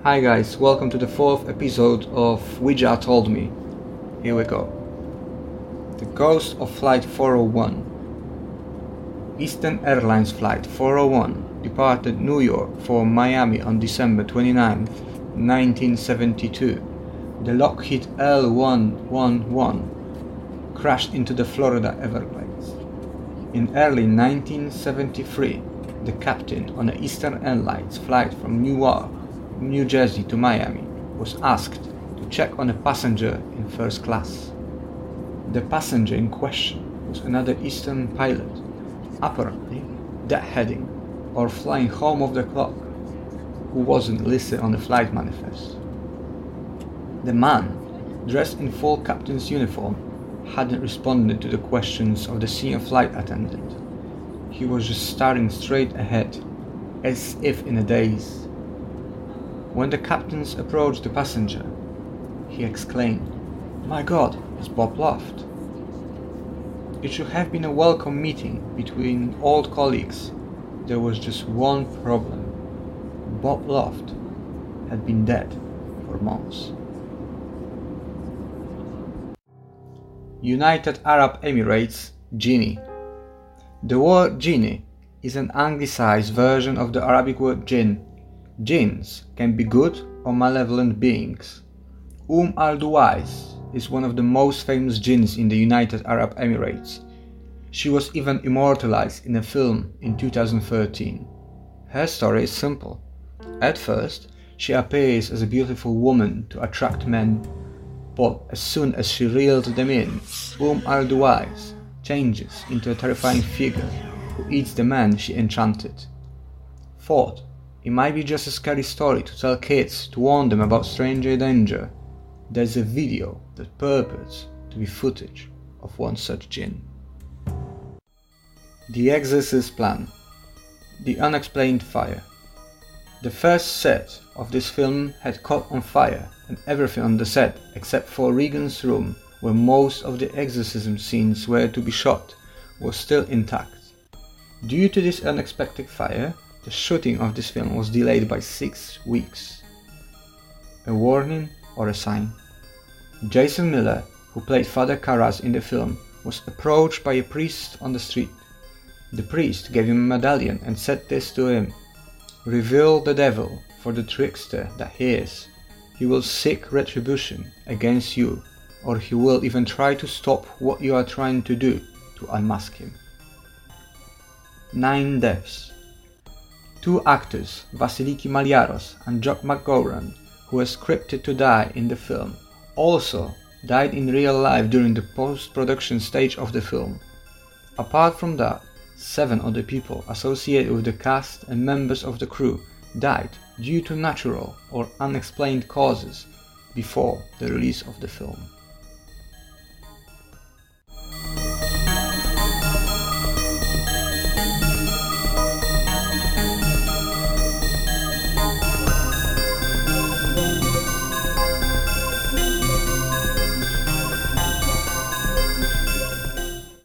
Hi guys, welcome to the 4th episode of Ouija Told Me. Here we go. The ghost of Flight 401. Eastern Airlines Flight 401 departed New York for Miami on December 29, 1972. The Lockheed L-111 crashed into the Florida Everglades. In early 1973, the captain on an Eastern Airlines flight from Newark, New Jersey to Miami was asked to check on a passenger in first class. The passenger in question was another Eastern pilot, apparently deadheading or flying home off the clock, who wasn't listed on the flight manifest. The man, dressed in full captain's uniform, hadn't responded to the questions of the senior flight attendant. He was just staring straight ahead, as if in a daze. When the captains approached the passenger, he exclaimed, "My God, it's Bob Loft." It should have been a welcome meeting between old colleagues. There was just one problem. Bob Loft had been dead for months. United Arab Emirates, Jinni. The word Jinni is an anglicized version of the Arabic word jinn. Jinns can be good or malevolent beings. Al-Duwais is one of the most famous jinns in the United Arab Emirates. She was even immortalized in a film in 2013. Her story is simple. At first, she appears as a beautiful woman to attract men, but as soon as she reels them in, Al-Duwais changes into a terrifying figure who eats the man she enchanted. Thought it might be just a scary story to tell kids to warn them about stranger danger. There's a video that purports to be footage of one such jinn. The Exorcist Plan. The Unexplained Fire. The first set of this film had caught on fire, and everything on the set, except for Regan's room, where most of the exorcism scenes were to be shot, was still intact. Due to this unexpected fire, the shooting of this film was delayed by 6 weeks. A warning or a sign? Jason Miller, who played Father Karras in the film, was approached by a priest on the street. The priest gave him a medallion and said this to him: "Reveal the devil for the trickster that he is. He will seek retribution against you, or he will even try to stop what you are trying to do to unmask him." 9 deaths. 2 actors, Vasiliki Maliaros and Jock McGowran, who were scripted to die in the film, also died in real life during the post-production stage of the film. Apart from that, 7 other people associated with the cast and members of the crew died due to natural or unexplained causes before the release of the film.